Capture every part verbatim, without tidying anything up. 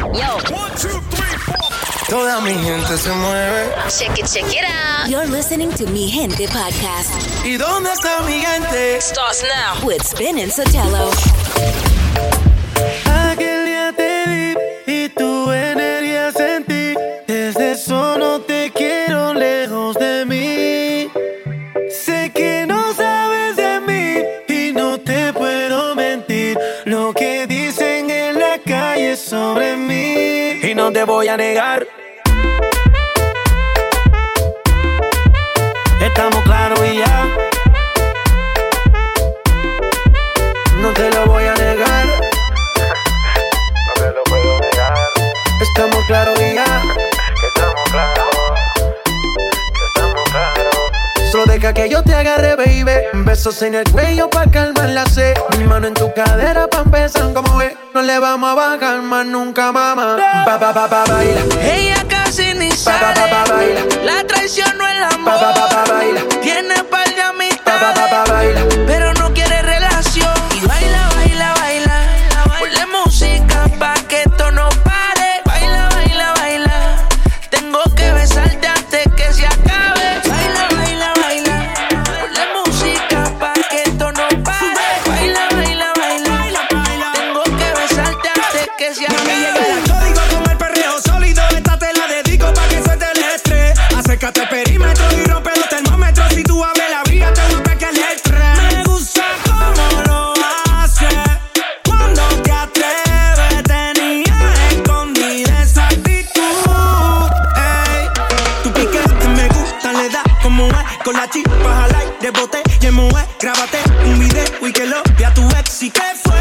Yo. One, two, three, four. Toda mi gente se mueve. Check it, check it out. You're listening to Mi Gente Podcast. ¿Y dónde está mi gente? Starts now. With Spin and Sotelo. Aquel día te vi y tu energía sentí. Desde eso no te quiero lejos de mí. Sé que no sabes de mí y no te puedo mentir. Lo que dicen en la calle sobre mí. Y no te voy a negar. Estamos claros y ya. No te lo voy a negar. No te lo puedo negar. Estamos claros y ya. Estamos claros. Estamos claros. Solo deja que yo te agarre, baby. Besos en el cuello pa' calmar la sed. Mi mano en tu cadera pa' empezar como ve. No le vamos a bajar más nunca, mamá. Pa, pa, pa, pa, baila. Ella casi ni Pa, sale. pa, pa, pa, baila. La traición no es el amor. Pa, pa, pa, pa, baila. Tiene par de Pa, amistades, pa, pa, pa, baila. pero no quiere relación. Y baila, baila, baila. Ponle música pa' que esto no pare. Baila, baila, baila. Tengo que besarte antes que se acabe. Baila, baila, baila. Ponle música pa' que esto no pare. Baila, baila, baila. Tengo que besarte antes que se acabe. Código como el perreo sólido. Esta te la dedico pa' que suelte el estrés. Acércate al perímetro y rompe los termómetros. Si tú abres la vía, te gusta que le estrés. Me gusta cómo lo haces. Cuando te atreves, tenía escondida esa actitud. Ey, tu piquete me gusta, le da como es. Con la chispa al aire, boté y en mujer. Grábate un video y que lo vea tu ex. ¿Y qué fue?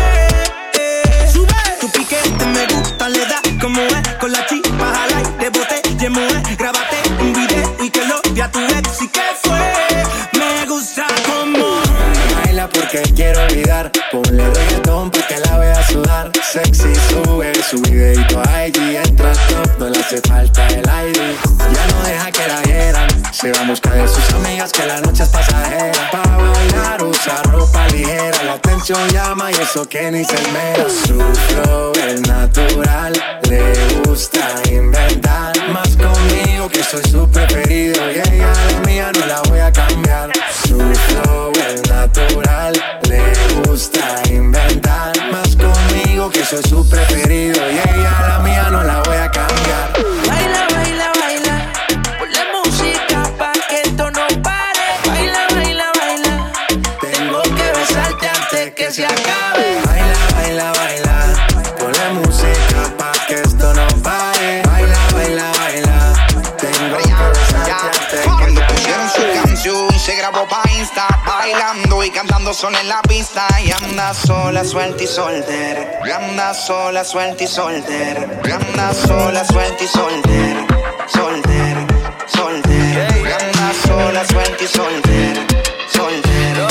Eh, Sube. Tu piquete me gusta, le da como es. Con la chispa al aire, boté y en mujer. Grábate un video y que lo vea tu ex. ¿Y qué fue? Me gusta como Baila porque quiero olvidar. Ponle reggaetón pa' que la vea sudar. Sexy sube su videito a I G. Entra top, no le hace falta el I D. Ya no deja que la hieran. Se va a buscar de sus amigas que la noche es pasajera. Pa' bailar usa ropa ligera. La atención llama y eso que ni se esmera. Su flow es natural. Le gusta inventar. Más conmigo que soy su preferido. Y ella la mía no la voy a cambiar. Su flow es natural. Le gusta inventar. Más conmigo que soy su preferido. Y ella la mía no la voy a cambiar. Baila, baila, baila. Ponle música pa' que esto no pare. Baila, baila, baila. Tengo que besarte antes que se acabe. Baila, baila, baila. Ponle música pa' que esto no pare. Baila, baila, baila. Tengo que besarte antes que Cuando pusieron su canción se grabó pa' Insta, bailando y cantando sola en la pista. Y anda sola, suelta y soltera. Y anda sola, suelta y soltera. Y anda sola, suelta y soltera. Soltera, soltera. Y anda sola, suelta y soltera. Soltera.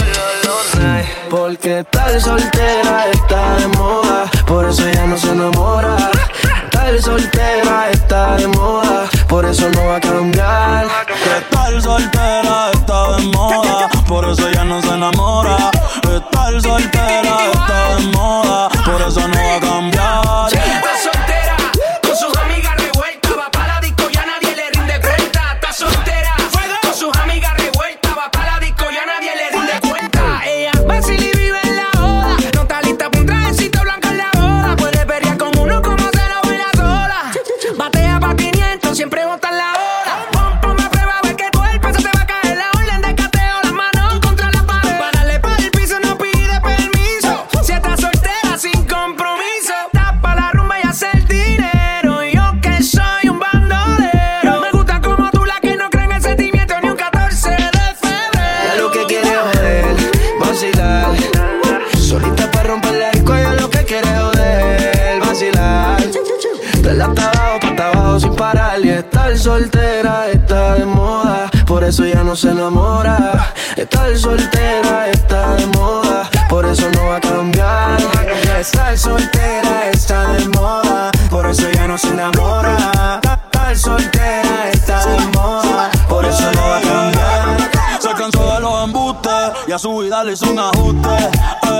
Porque tal soltera está de moda, por eso ella no se enamora. Tal soltera está de moda, por eso no va a cambiar. Que tal soltera está de moda, por eso ella no se enamora. Tal soltera está de moda, por eso no va a cambiar. Está soltera, con sus amigas revueltas. Va pa' la disco, ya nadie le rinde cuenta. Está soltera, con sus amigas revueltas. Va pa' la disco, ya nadie le rinde cuenta. Ella vacila y vive en la joda. No está lista pa' un trajecito blanco en la boda. Puede pelear con uno como se lo baila sola. Batea pa' quinientos, siempre bota en la hora. Pon, ponme a prueba, a ver que tu cuerpo se te va a caer. La orden de cateo, las manos contra la pared. Para darle pa' el piso no pide permiso. Si estás soltera sin compromiso, tapa la rumba y hace el dinero. Y yo que soy un bandolero. Me gusta como tú, la que no cree en el sentimiento ni un catorce de febrero. Ella lo que quiere joder, vacilar. Solita para romper la disco, ella lo que quiere joder, vacilar. De la hasta abajo, pa' hasta abajo sin parar. Y estar soltera está de moda, por eso ya no se enamora. Estar soltera está de moda, por eso no va a cambiar. Estar soltera está de moda, por eso ya no se enamora. Estar soltera está de moda, por eso no va a cambiar. Se cansó de los embustes y a su vida le hizo un ajuste. Ey,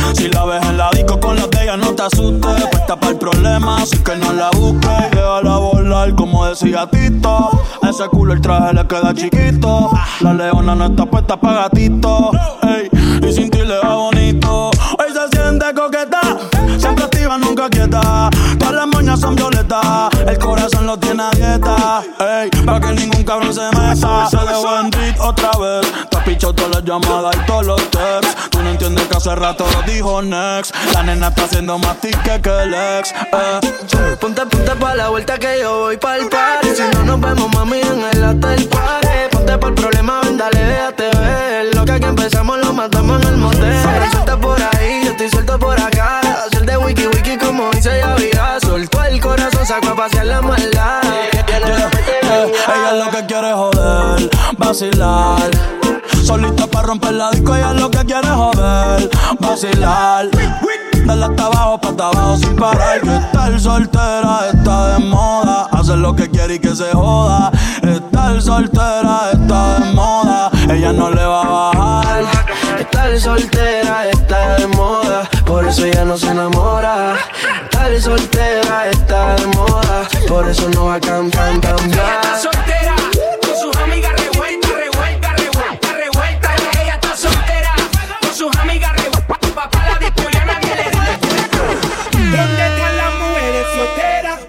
Si la ves en la disco con las de ella, no te asustes. Puesta para el problema, así que no la busques. Déjala volar, como decía Tito. A ese culo el traje le queda chiquito. La leona no está puesta pa' gatito. Ey, y sin ti le va bonito. Hoy se siente coqueta, siempre activa, nunca quieta. Todas las moñas son violetas, el corazón lo tiene a dieta. Ey, pa' que ningún cabrón se meta. Se dejó en beat otra vez. Te has pichado todas las llamadas y todos los texts. Tú no entiendes que hace rato lo dijo next. La nena está haciendo más tique que el ex. eh. Ponte, ponte pa' la vuelta que yo voy pa'l party. Si no nos vemos, mami, en el hotel party. Ponte pa'l problema, ven, dale, déjate ver. Lo que aquí empezamos lo matamos en el motel. Suelta por ahí, yo estoy suelto por acá. Hacer de wiki wiki como dice Yaviga. Soltó el corazón, sacó a pasear la maldad. Yeah, yeah. Ella es lo que quiere joder, vacilar. Solita pa' romper la disco, ella es lo que quiere joder, vacilar. Dale hasta abajo, pa' hasta abajo sin parar. Que estar soltera está de moda. Hacer lo que quiere y que se joda. Estar soltera está de moda. Ella no le va a bajar. Estar soltera está de moda, por eso ella no se enamora. Estar soltera está de moda, por eso no va a cambiar, cambiar. Está soltera, con sus amigas revuelta, revuelta, revuelta, revuelta. Ella está soltera, con sus amigas revuelta. Papá la disco ya nadie le rinde. ¿Dónde están las mujeres solteras?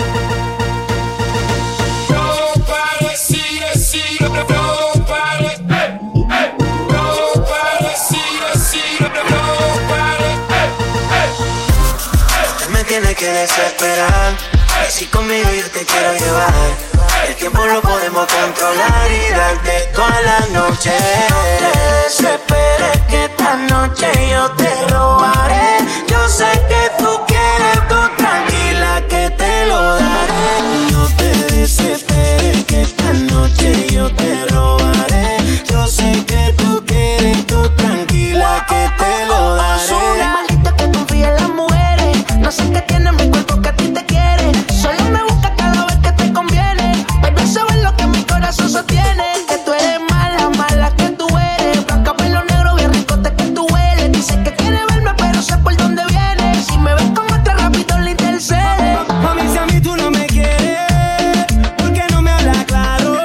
Nobody see the see the nobody. Hey, hey. Nobody see the see the nobody. Hey, hey. Usted me tiene que desesperar. Si conmigo yo te quiero llevar, el tiempo lo podemos controlar y darte toda la noche. No te desesperes que esta noche yo te robaré. Yo sé que tú quieres, tú tranquila que te lo daré. No te desesperes que esta noche yo te robaré. Yo sé que tú quieres, tú tranquila que te lo daré. Soy maldita que confía en las mujeres. No sé qué tiene mi cuerpo que a ti te quiere. Solo me busca cada vez que te conviene. Pero sabes lo que mi corazón sostiene. Que tú eres mala, mala que tú eres. Blanca, pelo negro, bien ricote que tú hueles. Dice que quiere verme, pero sé por dónde viene. Si me ves con otra, rápido le intercede. Mami, si a mí tú no me quieres, ¿por qué no me hablas claro?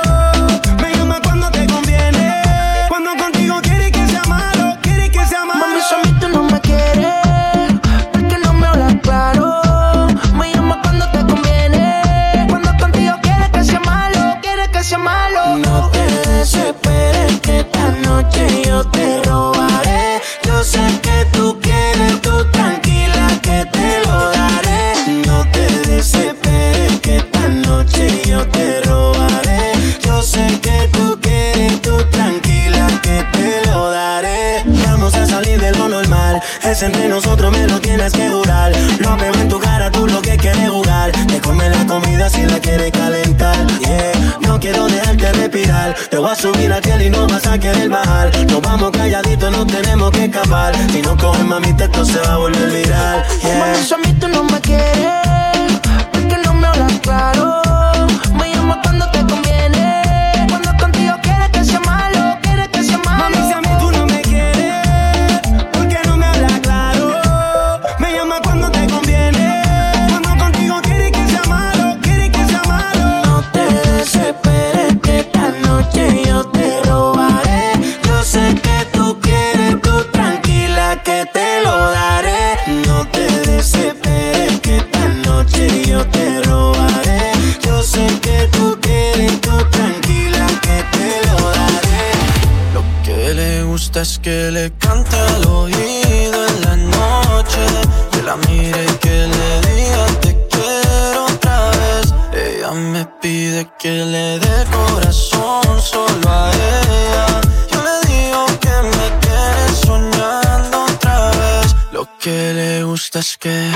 Me llama cuando te conviene. Cuando contigo quieres que sea malo, quieres que sea malo. Mami, si a mí tú no me quieres, ¿por qué no me hablas claro? Me llama cuando te conviene. Cuando contigo quieres que sea malo, quieres que sea malo. No te desesperes que esta noche yo te robaré. Yo sé que tú quieres, tú tranquila que te lo daré. No te desesperes que esta noche yo te robaré. Yo sé que tú quieres, tú tranquila que te lo daré. Vamos a salir de lo normal, es entre nosotros, me lo tienes que jurar. Lo veo en tu cara, tú lo que quieres jugar. Te comes la comida si la quieres calentar. Yeah, no quiero dejarte respirar. Te voy a subir a ti y no vas a querer bajar. Nos vamos calladitos, no tenemos que escapar. Si no coges mami, esto se va a volver viral. Yeah. Mami, si a mí tú no me quieres, ¿por qué no me hablas claro? Me llama cuando te conviene. Cuando contigo quieres que sea malo, quieres que sea malo. Mami, si a mí tú no me quieres, ¿por qué no me hablas claro? Me llama cuando te conviene. Cuando contigo quieres que sea malo, quieres que sea malo. No te desesperes que esta noche yo te robaré. Yo sé que tú quieres, tú tranquila que te lo daré. No te desesperes que esta noche yo te robaré. Yo sé que tú quieres, tú tranquila que te lo daré. Lo que le gusta es que le cante al oído en la noche, que la mire y que le diga te quiero otra vez. Ella me pide que le dé corazón solo a ella. Yo le digo que me tiene soñando otra vez. Lo que le gusta es que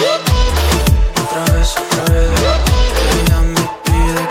otra vez, otra vez. Ella me pide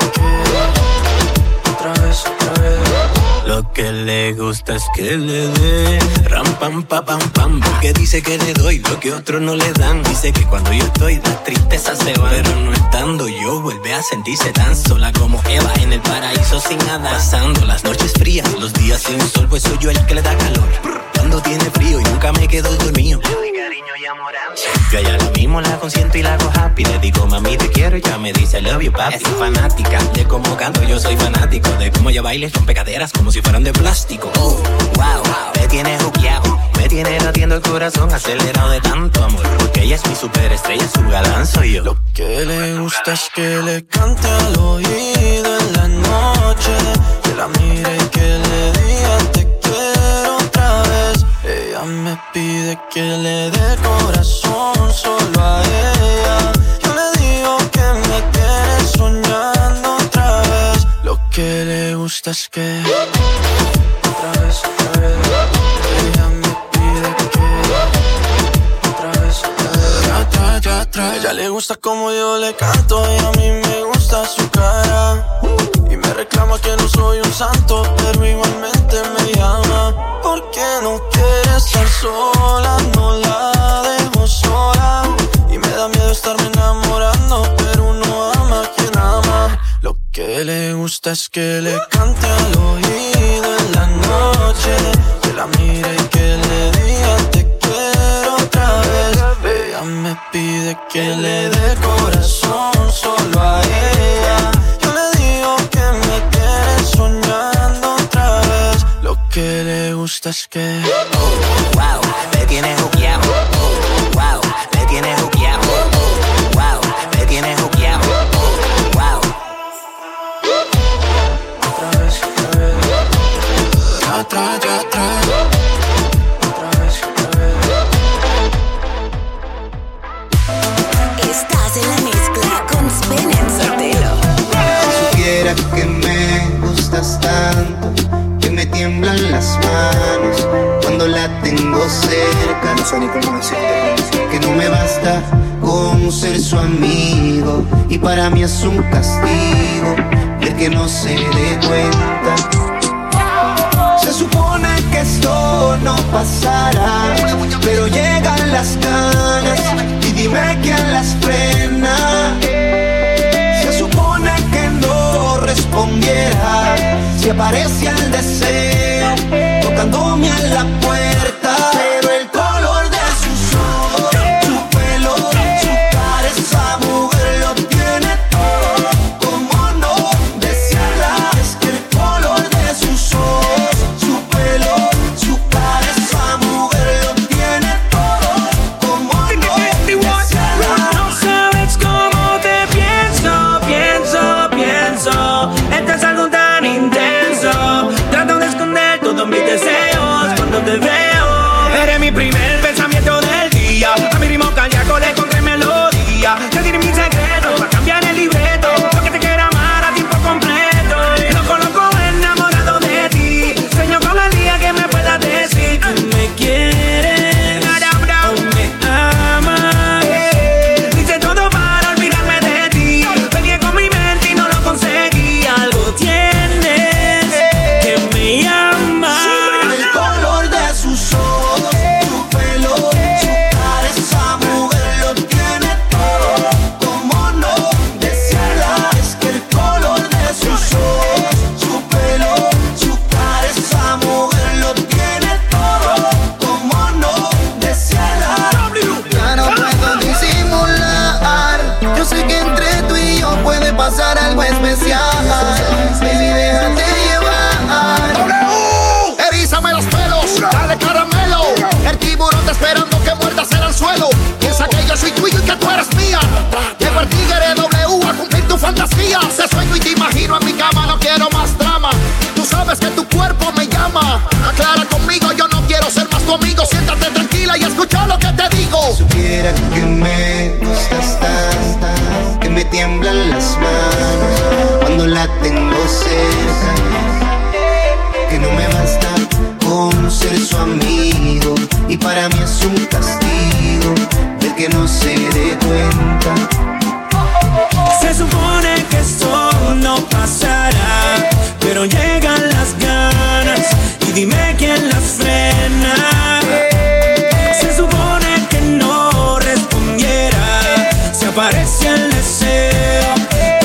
que otra vez, otra vez. Lo que le gusta es que le dé ram pam pa pam pam, porque dice que le doy lo que otros no le dan. Dice que cuando yo estoy las tristezas se van, pero no estando yo vuelve a sentirse tan sola como Eva en el paraíso sin nada. Pasando las noches frías, los días sin sol, pues soy yo el que le da calor. Cuando tiene frío y nunca me quedo dormido. Le doy cariño enamorando. Yo a ella lo mismo la consiento y la hago happy. Le digo, mami, te quiero y ya me dice, I love you, papi. Es fanática de cómo canto, yo soy fanático de cómo ella baila y rompe caderas como si fueran de plástico. Oh, wow, me tiene juqueado, me tiene latiendo el corazón acelerado de tanto amor. Porque ella es mi superestrella, su galán soy yo. Lo que le gusta es que le cante al oído en la noche, que la mire y que le diga te quiero otra vez. Ella me pide que le dé corazón solo a ella. Yo le digo que me tiene soñando otra vez. Lo que le gusta es que otra vez, otra vez. Ella me pide que otra vez, otra vez. Ya atrás, ya atrás. Ella le gusta como yo le canto y a mí me gusta su cara. Y me reclama que no soy un santo, pero igualmente me llama. Porque no quiere estar sola, no la dejo sola. Y me da miedo estarme enamorando, pero uno ama a quien ama. Lo que le gusta es que le cante al oído en la noche, que la mire y que le diga te quiero otra vez. Ella me pide que le dé corazón solo a ella. Yo le digo que me tiene soñando otra vez. Lo que le gusta es que oh, wow, me tiene juqueado. Oh, wow, me tiene juqueado. Oh, wow, me tiene juqueado. Oh, wow. Otra vez, otra vez. Ya atrás, ya atrás. Otra vez, otra vez. Estás en la mezcla con Spin and Sotelo. Si supiera que me gustas tanto, que me tiemblan las manos cuando la tengo cerca. Que no me basta con ser su amigo y para mí es un castigo ver que no se dé cuenta. Se supone que esto no pasará, pero llegan las ganas y dime quién las frena. Se supone que no respondiera si aparece el deseo tocándome a la puerta. Pero el color de sus ojos, su pelo, su cara, esa mujer lo tiene todo. ¿Cómo no desearla? Es que el color de sus ojos, su pelo, su cara, esa mujer lo tiene todo. ¿Cómo no desearla? No sabes cómo te pienso, pienso, pienso. Esto es algo tan intenso. Trato de esconder todos mis deseos cuando te veo. Eres mi primer pensamiento del día. A mi ritmo cardíaco le encontré melodía. Te diré mis secretos para cambiar el libreto, porque te quiero amar a tiempo completo. Loco, loco, enamorado de ti. Sueño con el día que me puedas decir tú me quieres o me amas. Hice todo para olvidarme de ti. Peleé con mi mente y no lo conseguí. Algo tienes que me llama. El color de sus ojos, su pelo, su cara, esa mujer lo tiene todo. ¿Cómo no desearla? Es que el color de sus ojos, su pelo, su cara, esa mujer lo tiene todo. ¿Cómo no desearla? ya no puedo disimular. Yo sé que entre tú y yo puede pasar algo especial. Baby, déjate llevar. W. Erízame los pelos, dale caramelo. El tiburón está esperando que muerdas en el suelo. Piensa que yo soy tuyo y que tú eres mía. Llego el tigre W a cumplir tu fantasía. Te sueño y te imagino en mi cama, no quiero más drama. Tú sabes que tu cuerpo me llama. Aclara conmigo, yo no quiero ser más tu amigo. Siéntate tranquila y escucha lo que te digo. Supiera que me gustas tanto, que me tiemblan las manos cuando la tengo cerca. Que no me basta con ser su amigo y para mí es un castigo ver que no se dé cuenta. Se supone que esto no pasará, pero llegan las ganas y dime quién las frena. Se supone que no respondiera si aparece el deseo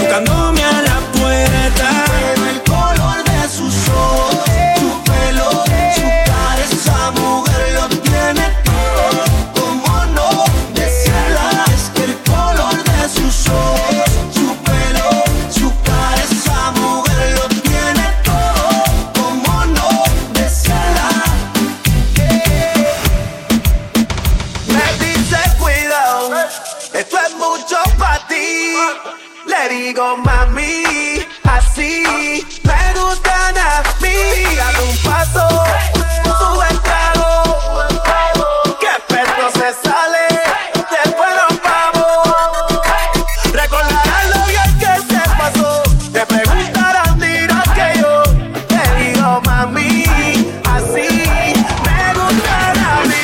digo mami, así me gustan a mí. Dame un paso, sube el trago, que perro se sale, después nos vamos. Recordarán lo bien que se pasó, te preguntarán, dirás que yo te digo mami, así me gustan a mí.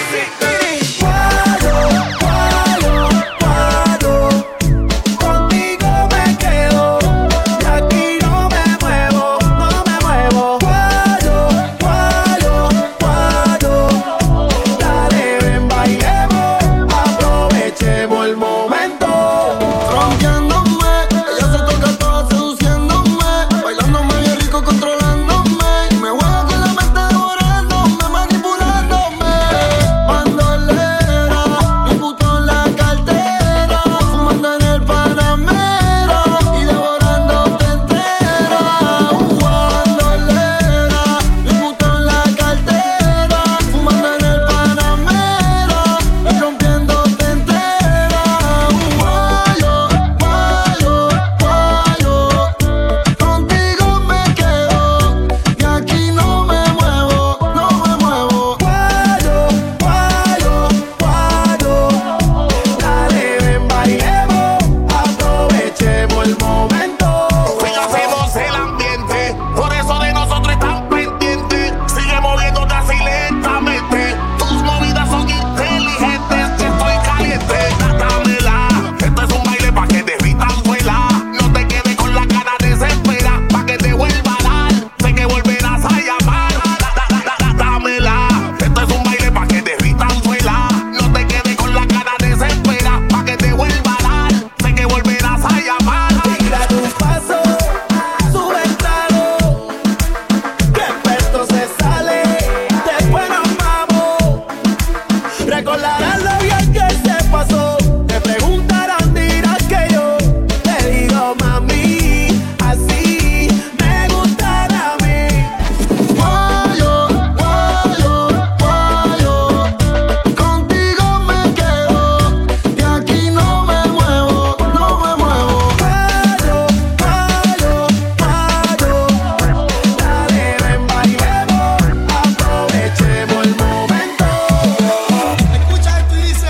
Guado, guado, guado, contigo me quedo y aquí no me muevo, no me muevo. Guado, guado, guado, dale ven bailemos, aprovechemos el momento. Rompiéndome, ella se toca toda seduciéndome, bailándome bien rico, controlándome. Me juega con la mente devorándome, manipulándome. Bandolera, mi puto en la cartera, fumando en el Panamera y devorándote entera. Bandolera, mi puto en la cartera, fumando en el Panamera y rompiéndote entera. Guayo, guayo, guayo, contigo me quedo y aquí no me muevo, no me muevo. Guado, guado, guado, dale ven bailemos, aprovechemos el momento. Hacemos el ambiente, por eso de nosotros están pendientes. Sigue moviéndote así lentamente, tus movidas son inteligentes. Que estoy caliente, dámela. Esto es un baile pa' que derritan suela. No te quedes con la cara desespera, pa' que te vuelva a dar. Sé que volverás a llamar. Da- da- da- da- Dámela. Esto es un baile pa' que derritan suela. No te quedes con la cara desespera, pa' que te vuelva a dar. Sé que volverás a llamar. Tira tu paso, sube el trago, que perro se sale, después nos vamos. Recordarán lo bien que se pasó, te preguntarán, dirás que yo te digo mami, así me gustan a mí. Guayo, guayo, guayo, contigo me quedo y aquí no me muevo, no me muevo. Guado, guado, guado, dale ven bailemos, aprovechemos el momento. Escucha esto y dice.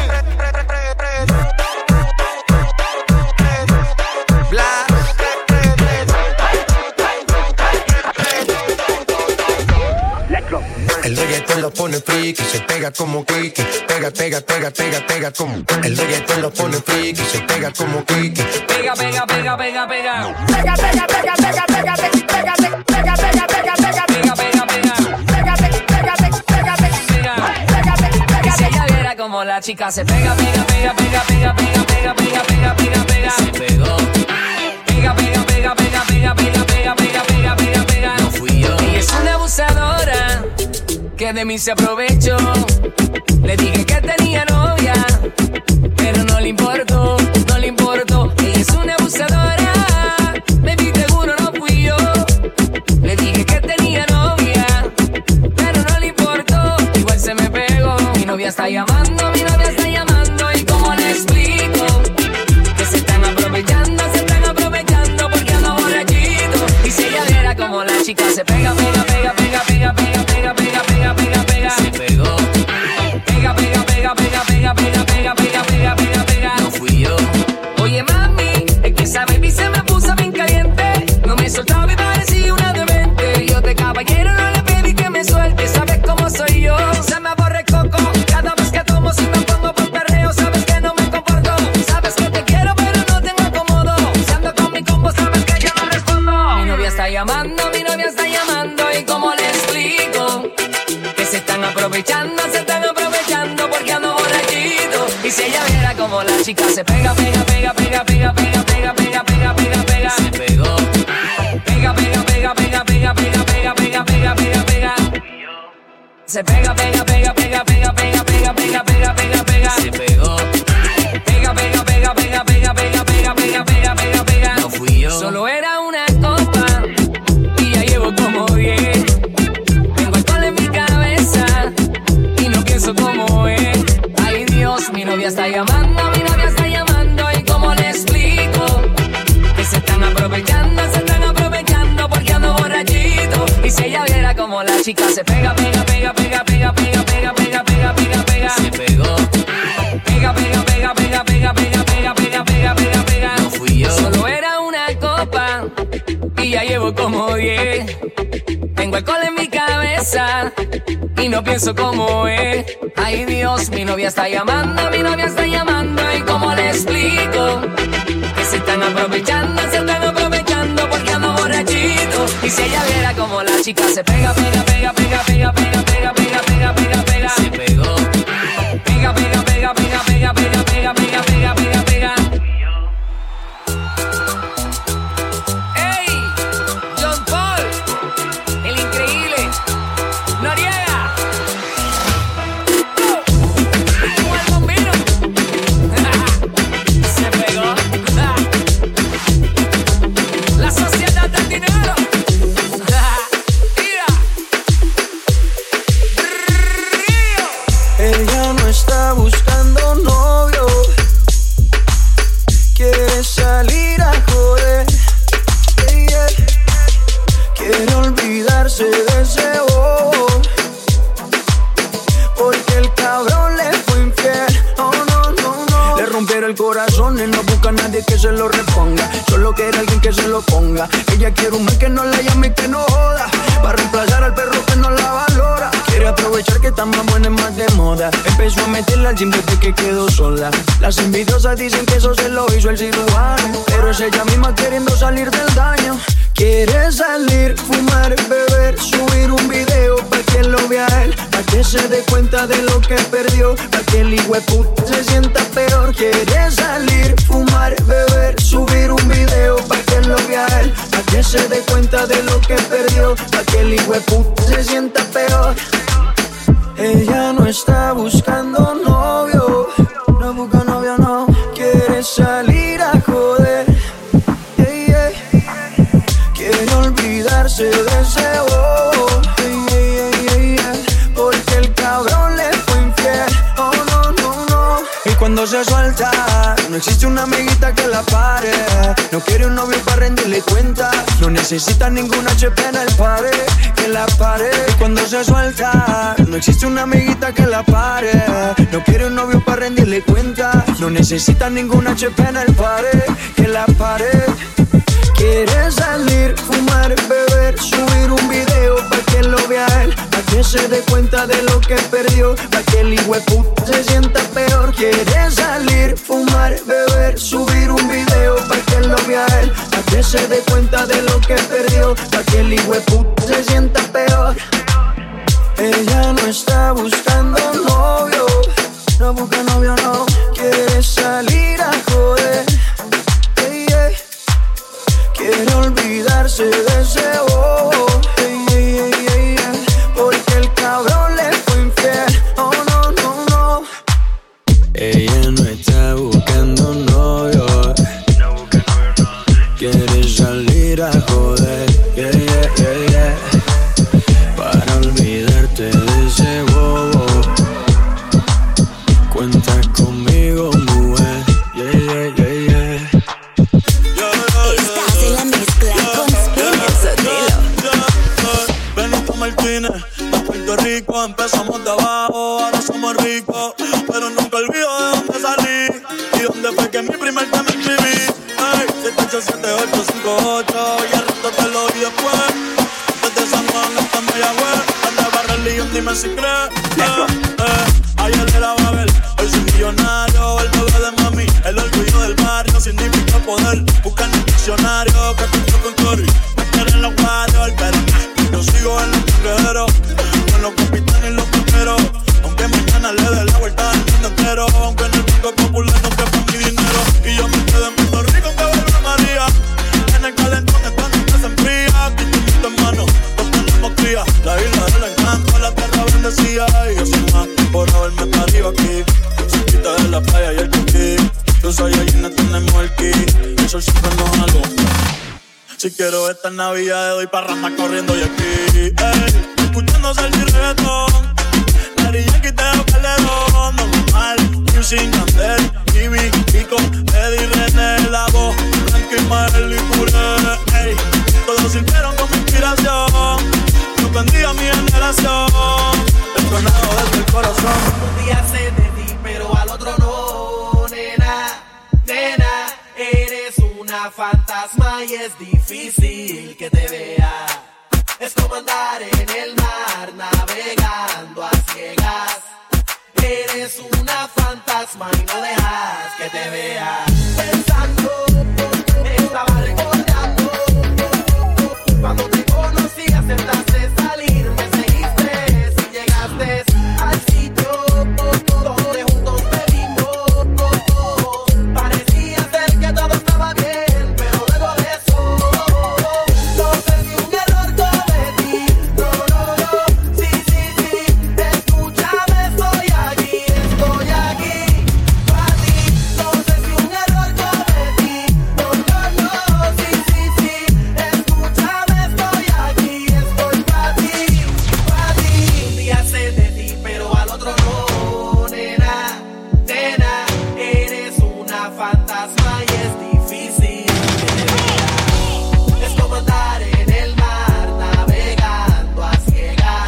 El reggaetón lo pone friki, se pega como Kiki. Pega, pega, pega, pega, pega como. El reggaetón lo pone friki, se pega como Kiki. Pega, pega, pega, pega, pega. Pega, pega, pega, pega, pega, pega, pega, pega, pega, pega, pega, pega, Pega, pega, pega. pega, pega, pega, pega, pega, Y si ella viera como la chica se pega, pega, pega, pega, pega, pega, pega, pega, pega, pega, pega. Se pegó. Pega, pega, pega, pega, pega, pega, pega, pega, pega, pega, pega. No fui yo. Ella es una abusadora que de mí se aprovechó. Le dije que tenía novia, pero no le importó, no le importó. Ella es una abusadora, baby, seguro no fui yo. Le dije que tenía novia, pero no le importó. Igual se me pegó. Mi novia está llamando, mi novia está llamando. ¿Y cómo le explico? Que se están aprovechando, se están aprovechando porque ando borrachito. Y si ella viera como la chica se pega, pega, pega, pega, pega, pega, pega, pega, pega, pega, pega. Se pegó. Pega, pega, pega, pega, pega, pega, pega, pega, pega, pega, pega. No fui yo. Oye, mami, es que esa baby se me puso bien caliente. No me soltaba y parecía una demente. Yo de caballero no le pedí que me suelte. Sabes cómo soy yo. Se me aborre coco. Cada vez que tomo si me pongo por perreo. Sabes que no me comporto. Sabes que te quiero pero no tengo acomodo. Si ando con mi combo sabes que yo no respondo. Mi novia está llamando, mi novia está llamando. ¿Y cómo le explico? Que se están aprovechando, se están aprovechando porque ando borrachito. Y si ella viera como la chica se pega, pega, pega, pega, pega, pega, pega, pega, pega, pega, pega. Se pegó. Pega, pega, pega, pega, pega, pega, pega, pega, pega, pega, pega. Se pega, pega, pega, pega, pega, pega, pega, pega, pega, pega, pega. Se pegó. Pega, pega, pega, pega, pega, pega, pega, pega, pega, pega, pega. No fui yo. Solo era una copa y ya llevo como diez. Tengo alcohol en mi cabeza y no pienso como es. Ay Dios, mi novia está llamando, mi novia está llamando. ¿Y cómo le explico? Que se están como la chica se pega, pega, pega, pega, pega, pega, pega, pega, pega, pega, pega. Se pegó. Pega, pega, pega, pega, pega, pega, pega, pega, pega, pega, pega. No fui yo. Solo era una copa y ya llevo como diez. Tengo alcohol en mi cabeza y no pienso como es. Ay Dios, mi novia está llamando, mi novia está llamando. ¿Y cómo le explico? Que se están aprovechando, se están aprovechando porque ando borrachito. Y si ella viera como la chica se pega, pega, pega, pega, pega, pega, pega, pega, pega, pega, pega. Se pegó. Pega, pega, pega, pega, pega, pega, pega, pega, pega, pega, pega. ¡Ey! John Paul, el increíble Noriega. ¡Oh! ¡El bombino! Se pegó. La sociedad del dinero. Ella no está buscando novio, quiere salir a joder, yeah, yeah. Quiere olvidarse de ese bobo, porque el cabrón le fue infiel. Oh no, no, no. Le rompieron el corazón y no busca a nadie que se lo reponga, solo quiere alguien que se lo ponga. Ella quiere un man que no la llame y que no joda, para reemplazar al perro que no la valora. Quiere aprovechar que está más buena y más de moda. Empezó a meterla al gym desde que quedó sola. Las envidiosas dicen que eso se lo hizo el cirujano, pero es ella misma queriendo salir del daño. Quiere salir, fumar, beber, subir un video pa' que lo vea él, pa' que se dé cuenta de lo que perdió, pa' que el hijueputa se sienta peor. Quiere salir, fumar, beber, subir un video pa' que lo vea él, pa' que se dé cuenta de lo que perdió, pa' que el hijueputa se sienta peor. Ella no está buscando novio, no busca novio, no. Quiere salir a joder, yeah, yeah. Quiere olvidarse de ese bobo, yeah, yeah, yeah, yeah. Porque el cabrón le fue infiel. Oh no, no, no. Y cuando se suelta, no existe una amiguita que la pare. No quiere un novio para rendirle cuenta, no necesita ninguna H P en el pare, que la pare. Y cuando se suelta, no existe una amiguita que la pare. No quiere un novio para rendirle cuenta, no necesita ninguna H P en el pare, que la pare. Quiere salir, fumar, beber, subir un video pa' que lo vea él, pa' que se dé cuenta de lo que perdió, pa' que el hijueputa se sienta peor. Quiere salir, fumar, beber, subir un video pa' que lo vea él, pa' que se dé cuenta de lo que perdió, pa' que el hijueputa se sienta peor. Ella no está buscando novio, no busca novio, no. Quiere salir a joder, yeah, yeah. Quiere olvidarse de ese bobo, yeah, yeah, yeah, yeah. Porque el cabrón le fue infiel. Oh no, no, no. Ella no está buscando novio, quiere salir a joder, yeah, yeah, yeah, yeah. Para olvidarte de ese bobo, cuenta conmigo, mujer, yeah, yeah, yeah, yeah. Estás en la mezcla con Spinner Sotelo. Benito Martínez, de Puerto Rico, empezamos de abajo, ahora somos ricos, pero nunca olvido de dónde salí y dónde fue que mi primer tema escribí. Ay, siete ocho siete ocho cinco ocho, y al rato te lo oí después. Desde San Juan hasta Mayagüez, donde barra el León, dime si crees. Eh, eh, ayer era Babel, hoy soy millonario, el bebé de mami, el orgullo del barrio, significa poder. Busca en el diccionario, que pinto con Cory, me quieren los Warriors, pero yo sigo en los trinqueros, con los capitanes y los primeros. Aunque mañana le dé la vuelta al mundo entero, aunque en el Banco Popular no quepa mi dinero, y yo me quedo en Puerto Rico que vuelve María. En el calentón estando que se enfría, aquí tu hermano, nos tenemos cría. La isla del encanto, la tierra bendecida, y yo soy más por haberme parido aquí, cerquita de la playa y el coquí. Tú soy allí, no tenemos el ki, el sol siempre nos alumbra. Si quiero esta Navidad, doy parranda corriendo y aquí, ey, escuchándose el reggaetón. Daddy Yankee te da Calderón, normal, Music, Yandel, Jimmy, Kiko, Eddie, René, La Voz, Frankie, Mael y Puré, ey, todos sirvieron como inspiración. Yo bendiga a mi fantasma y es difícil que te vea. Es como andar en el mar navegando a ciegas. Eres una fantasma y no dejas que te vea. Pensando, estaba recordando cuando te conocí, aceptaste salir, me seguiste y llegaste al sitio donde juntos bebimos. Parecía ser que todo estaba bien, pero luego de eso no sé si un error cometí. No, no, no, sí, sí, sí, escúchame, estoy aquí, estoy aquí para ti. No sé si un error cometí. No, no, no, sí, sí, sí, escúchame, estoy aquí, estoy para ti, para ti. Un día sé de ti, pero al otro no, nena, nena, eres una fantasma y es difícil que te vea. Es como andar en el mar navegando a ciegas.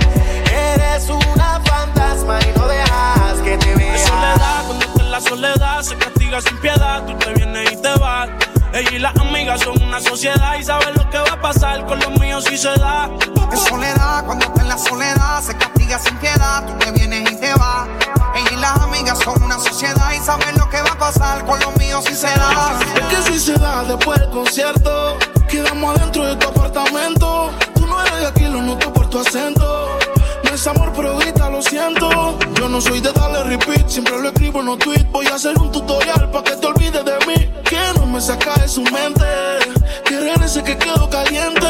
Eres una fantasma y no dejas que te vea. Es soledad, cuando estás en la soledad se castiga sin piedad. Tú te vienes y te vas. Ella y las amigas son una sociedad y saben lo que va a pasar con los míos si se da. En soledad, cuando está en la soledad, se castiga sin piedad, tú te vienes y te vas. Ella y las amigas son una sociedad y saben lo que va a pasar con los míos si se da. Es que si se da después del concierto, quedamos adentro de tu apartamento. Tú no eres de aquí, lo noto por tu acento. No es amor, pero grita, lo siento. Yo no soy de darle repeat, siempre lo escribo en los tweets. Voy a hacer un tutorial pa' que te olvides de mí. Que no me saca de su mente, que regrese que quedo caliente.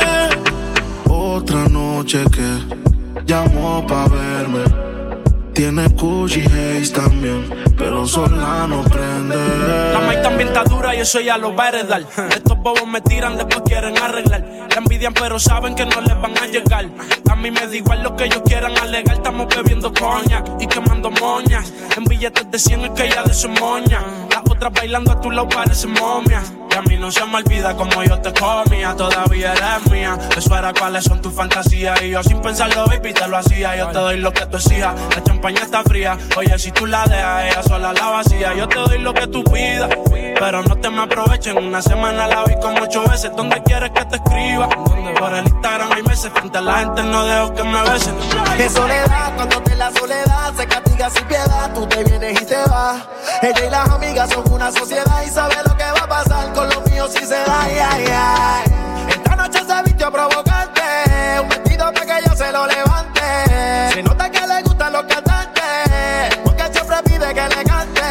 Otra noche que llamó pa' verme. Tiene Gucci Haze también, pero sola no prende. La maíz también está dura y eso ya lo va a heredar. Estos bobos me tiran, después quieren arreglar. La envidian pero saben que no les van a llegar. A mí me da igual lo que ellos quieran alegar. Estamos bebiendo coña y quemando moñas. En billetes de cien es que ella de su moña. Las otras bailando a tu lado parecen momias. Y a mí no se me olvida como yo te comía. Todavía eres mía. Eso era cuáles son tus fantasías. Y yo sin pensarlo, baby, te lo hacía. Yo te doy lo que tú exijas. La champaña está fría. Oye, si tú la dejas, ella sola la vacía. Yo te doy lo que tú pidas, pero no te me aprovechen. Una semana la vi como ocho veces. ¿Dónde quieres que te escriba? Por el Instagram hay meses. Frente a la gente no dejo que me besen. De soledad, cuando te la soledad se castiga sin piedad, tú te vienes y te vas. Ella y las amigas son una sociedad y sabe lo que va a pasar con los míos si se da. Ay, ay, ay. Esta noche se vistió provocante, un vestido para que yo se lo levante. Se nota que le gustan los cantantes, porque siempre pide que le cante.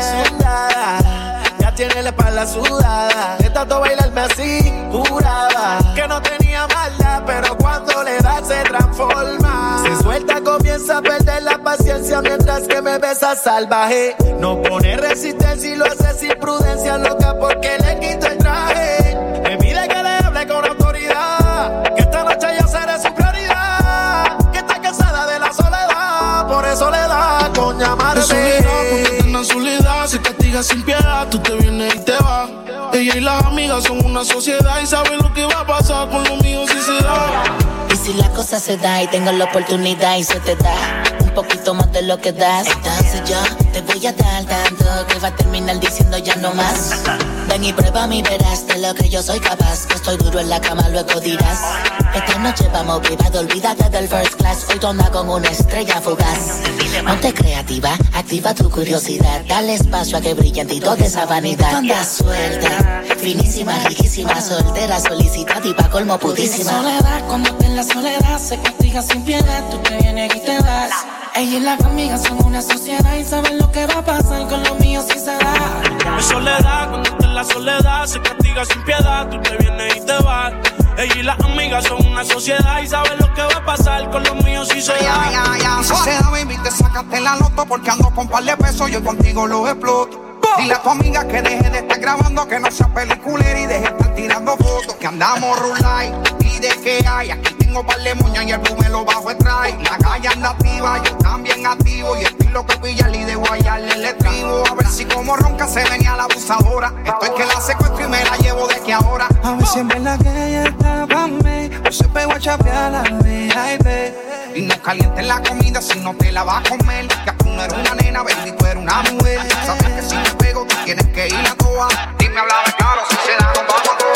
Sudada, ya tiene la espalda sudada, de tanto bailarme así, juraba que no tenía maldad, pero cuando le da se transforma. Se suelta, comienza a perder la paciencia mientras que me besa salvaje. No pone resistencia y lo hace sin prudencia, loca porque le quito el traje. Me pide que le hable con autoridad, que esta noche yo seré su prioridad, que está cansada de la soledad, por eso le da con llamarme. Es soledad, cuando está en la soledad se castiga sin piedad, tú te vienes y te vas. Ella y las amigas son una sociedad y saben lo que va a pasar con los míos si se da. Y si la cosa se da y tengo la oportunidad y se te da un poquito más de lo que das, entonces yo te voy a dar tanto que va a terminar diciendo ya no más. Ven y prueba mi verás de lo que yo soy capaz, que estoy duro en la cama, luego dirás. Esta noche vamos privado, olvídate del first class, hoy tonda con una estrella fugaz. Ponte creativa, activa tu curiosidad, dale espacio a que brille en ti toda esa vanidad. Tonda suelta, finísima, riquísima, soltera, solicitada y pa' colmo pudísima. Soledad, cuando te en la soledad se castiga sin piedad, tú te vienes y te vas. Ella y las amigas son una sociedad y saben lo que va a pasar con los míos si se da. Es soledad, cuando estás en la soledad se castiga sin piedad, tú te vienes y te vas. Ella y las amigas son una sociedad y saben lo que va a pasar con los míos si se da. Ya, ya, ya, si se da, baby, te sacaste la loto porque ando con par de pesos, yo contigo los exploto. Dile a tu amiga que deje de estar grabando, que no sea peliculera y deje de estar tirando fotos. Que andamos rulay y de que hay. Aquí tengo par de moñas y el blue me lo bajo el try. La calle anda activa, yo también activo. Y estoy loco de pillarle y de guayarle el estribo. A ver si como ronca se venía la abusadora. Estoy que la secuestro y me la llevo de que ahora. A ver si en verdad que ella está pa' mí, o se pegó a chapear la V I P. Y no calientes la comida si no te la vas a comer. Que tú no eres una nena, baby, tú eres una mujer. Sabes que si me pego tú tienes que ir a toa. Dime, habla de claro, si se da, nos vamos a toa.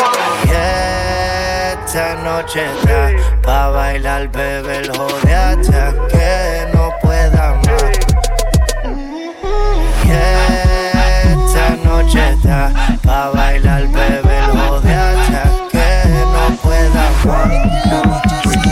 esta noche está pa' bailar, bebé, el jode hasta que no pueda más. Yeah, esta noche está pa' bailar, bebé, el jode hasta que no pueda más.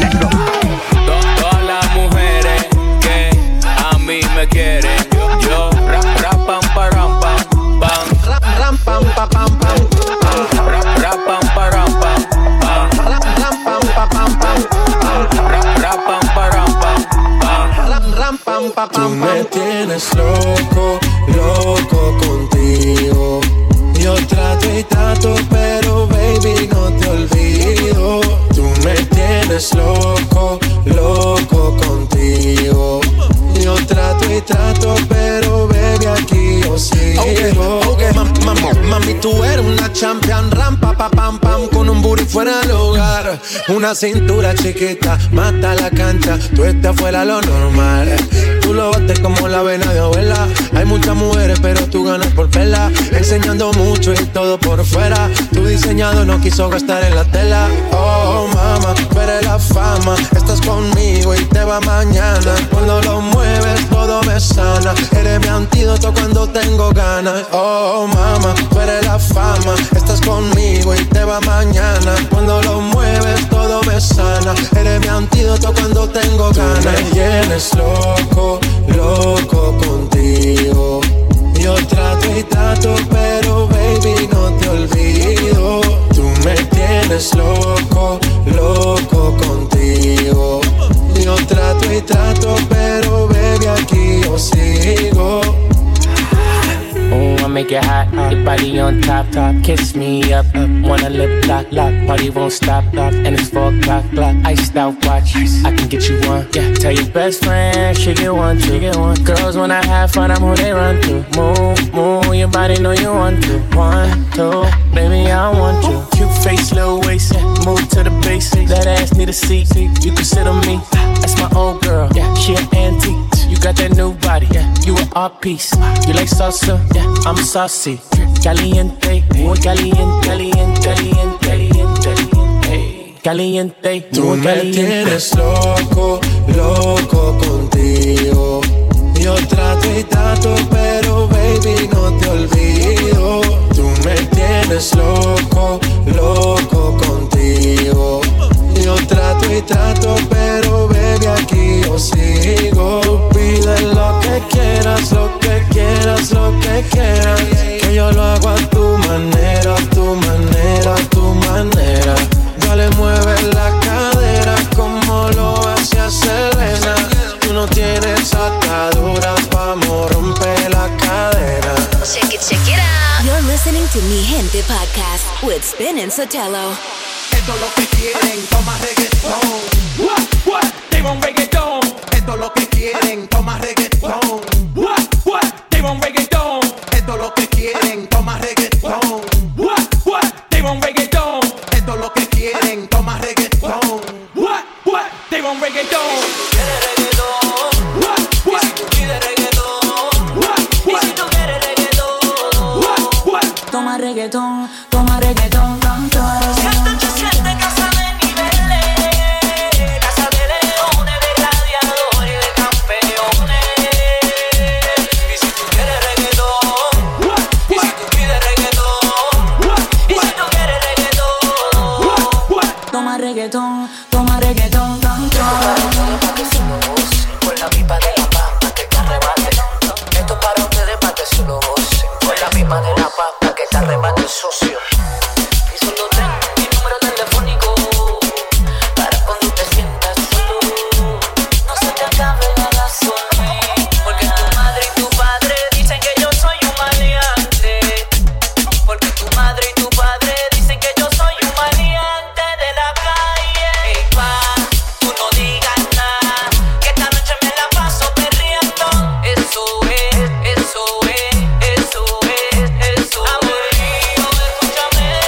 Todas las mujeres que a mí me quieren, yo rap, rap, pam, param, pam, pam, rap, ram, pam, pam, pam, pam, rap, rap, pam, param, pam, pam, rap, ram, pam, pam, pam, pam, rap, rap, pam, param, pam, pam, rap, ram, pam, pam, pam. Tú me tienes loco, loco contigo. Yo trato y trato, pero baby no te olvido. Tú me tienes loco, loco contigo. Yo trato y trato, pero baby aquí yo sigo. Okay, okay. Mam, mam, mami, tú eres una champion, rampa, pa, pam, pam, con un booty fuera del hogar. Una cintura chiquita, mata la cancha, tú estás fuera lo normal. Tú lo bates como la vena de abuela. Hay muchas mujeres, pero tú ganas por verla. Enseñando mucho y todo por fuera. Tu diseñado no quiso gastar en la tela. Oh, mama, tú eres la fama. Estás conmigo y te va mañana. Cuando lo mueves, todo me sana. Eres mi antídoto cuando tengo ganas. Oh, mama, tú eres la fama. Estás conmigo y te va mañana. Cuando lo mueves, todo me sana. Eres mi antídoto cuando tengo ganas. Tú me tienes loco, loco contigo. Yo trato y trato, pero baby no te olvido. Tú me tienes loco, loco contigo. Yo trato y trato, pero baby aquí yo sigo. Ooh, I make it hot, your body on top, top. Kiss me up, up. Wanna lip lock, lock. Party won't stop, lock. And it's four o'clock, clock. Iced out watch, I can get you one. Yeah, tell your best friend, she get one, she get one. Girls when I have fun, I'm who they run to. Move, move, your body know you want to. One, two, baby I want you. Cute face, little waist, yeah. Move to the basics. That ass need a seat, you can sit on me. That's my old girl, yeah. She an antique. You got that new body, yeah. You an art piece. You like salsa, yeah. I'm saucy. Caliente, muy caliente, caliente, caliente, caliente, caliente. Tú me tienes loco, loco contigo. Yo trato y trato, pero baby no te olvido. Tú me tienes loco, loco contigo. Yo trato y trato, pero baby aquí yo sigo. Tú pides lo que quieras, lo que quieras, lo que quieras. Que yo lo hago a tu manera, a tu manera, a tu manera. Dale, mueve la cadera como lo hace Selena. Tú no tienes ataduras, vamos, rompe la cadera. Check it, check it out. You're listening to Mi Gente Podcast with Spin and Sotelo. Esto es lo que quieren, toma reggaetón. What, what, they want reggaetón. Esto es lo que quieren, toma reggaetón. What, what, they want reggaetón. Esto es lo que quieren, toma reggaetón. What, what, they want reggaetón. Esto es lo que quieren, toma reggaetón. What, what, they want reggaetón. Quieres reggaetón. What, what, y si tú pides reggaetón. What, what, y si tú quieres reggaetón. What, what, toma reggaetón, toma reggaetón, tanto. Reggaetón, toma reggaetón, tanto. Pa' que se lo goce, con la pipa de la papa que te arrebate. Esto es para ustedes, pa' que se lo goce, con la pipa de la papa que te arrebate, socio. Y solo tengo mi número telefónico para cuando te sientas solo. No se te acabe la gasolina, porque tu madre y tu padre dicen que yo soy un maleante. Porque tu madre y tu padre dicen que yo soy un maleante de la calle. Ey, pa, tú no digas nada, que esta noche me la paso perreando. Eso es, eso es, eso es, eso es. Aburrido, escúchame.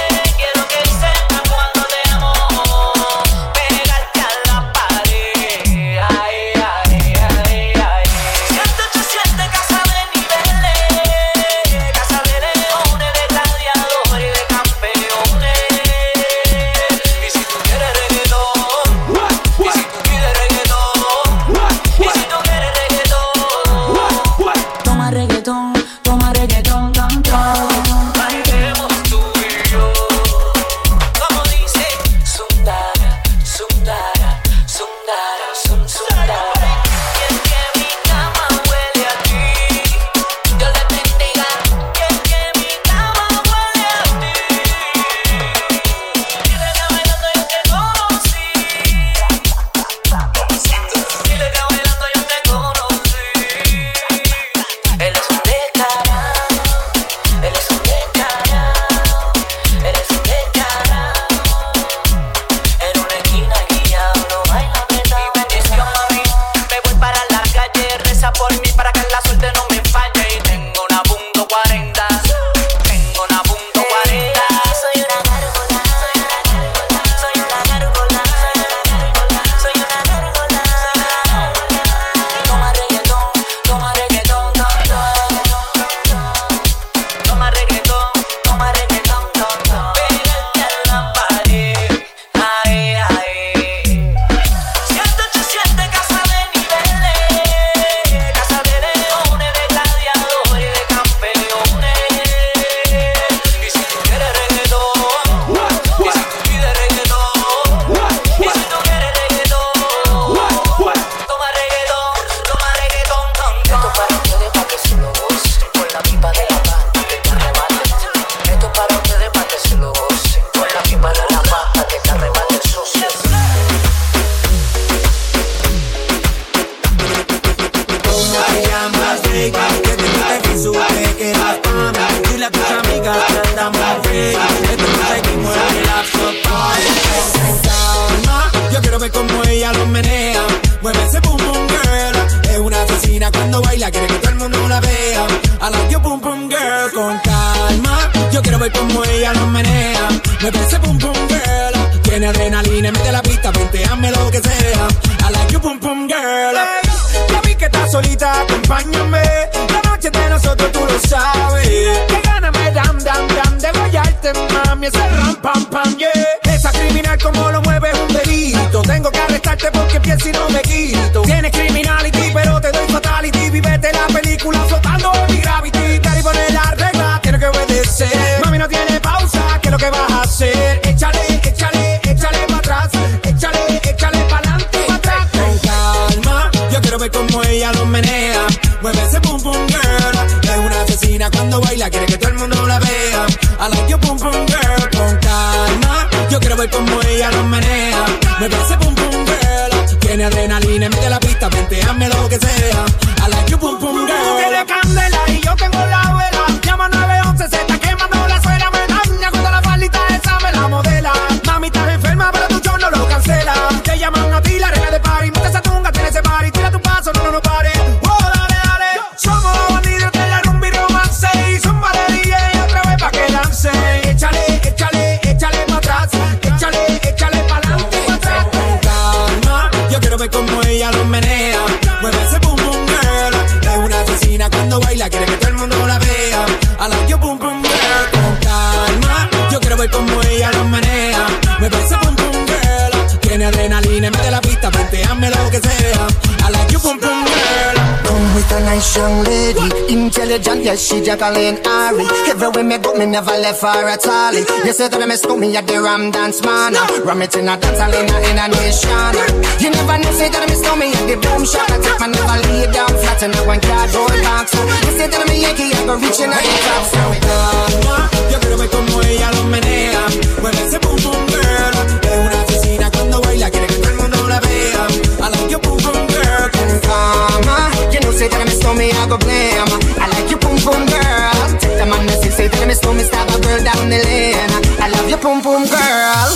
ver como ella lo menea. Me parece pum pum girl. Tiene adrenalina en medio de la pista, venteame lo que sea. I like you pum pum girl. Hey, ya vi que estás solita, acompáñame. La noche de nosotros tú lo sabes. Que gana me dan, dan, dan de guayarte, mami. Ese ram, pam, pam, yeah. Esa criminal como lo mueve es un delito. Tengo que arrestarte porque pienso y no me quito. Tienes criminality, pero te doy fatality. Vivete la película flotando en mi gravity. Te poner la regla, tiene que obedecer. Mami, no tiene pausa, ¿qué es lo que vas a hacer? Échale, échale, échale para atrás. Échale, échale para adelante, para atrás. Con calma, yo quiero ver cómo ella lo menea. Mueve ese pum pum girl. Es una asesina cuando baila, quiere que todo el mundo la vea. I like you pum pum girl. Con calma, yo quiero ver cómo ella lo menea. Mueve ese pum pum girl. Tiene adrenalina en medio de la pista, venteame lo que sea. I like you pum pum girl. Tú tienes candela y yo tengo la vela. Llama nueve once, se está quemando la suela. Me daña cuando la faldita esa me la modela. Mami, estás enferma, pero tu show no lo cancela. Te llaman a ti, la reina de party. Mete esa tunga, tiene ese party. Tira tu paso, no, no, no pare. Oh, dale, dale. Somos los bandidos de la rumba y romance. Y zumba de D J otra vez pa' que lance. Échale, échale, échale pa' atrás. Échale, échale pa' adelante, pa' atrás. Con calma, yo quiero ver cómo ella lo menea. Mueve ese pum pum girl. Es una asesina cuando baila, quiere que todo el mundo la vea. I like you pum pum girl. Con calma, yo quiero ver cómo ella lo menea. Mueve ese pum pum girl. Tiene adrenalina en medio de la pista, venteame lo que sea. I like you pum pum girl. Come with a nice young lady, intelligent, yes, she Jacqueline Ari. Everywhere me go, me never left her at all. You say that I miss me at the Ram Dance Man. Ram it in a dance hall in a, in a nation. You never know, say that I miss me at the Boom Shop. I take my never lay down flat in a one cardboard box. You say that I'm a Yankee, I go reaching out the top. So calma, yo quiero ver como ella lo menea. Mueve ese pum pum girl. Es una asesina cuando baila, quiere que todo el mundo la vea. I like you pum pum girl. Con calma, you know, say that I miss me, I go blame. I like you pum pum girl. Take the man that say that I miss me, stab a girl down the lane. I love you pum pum girl.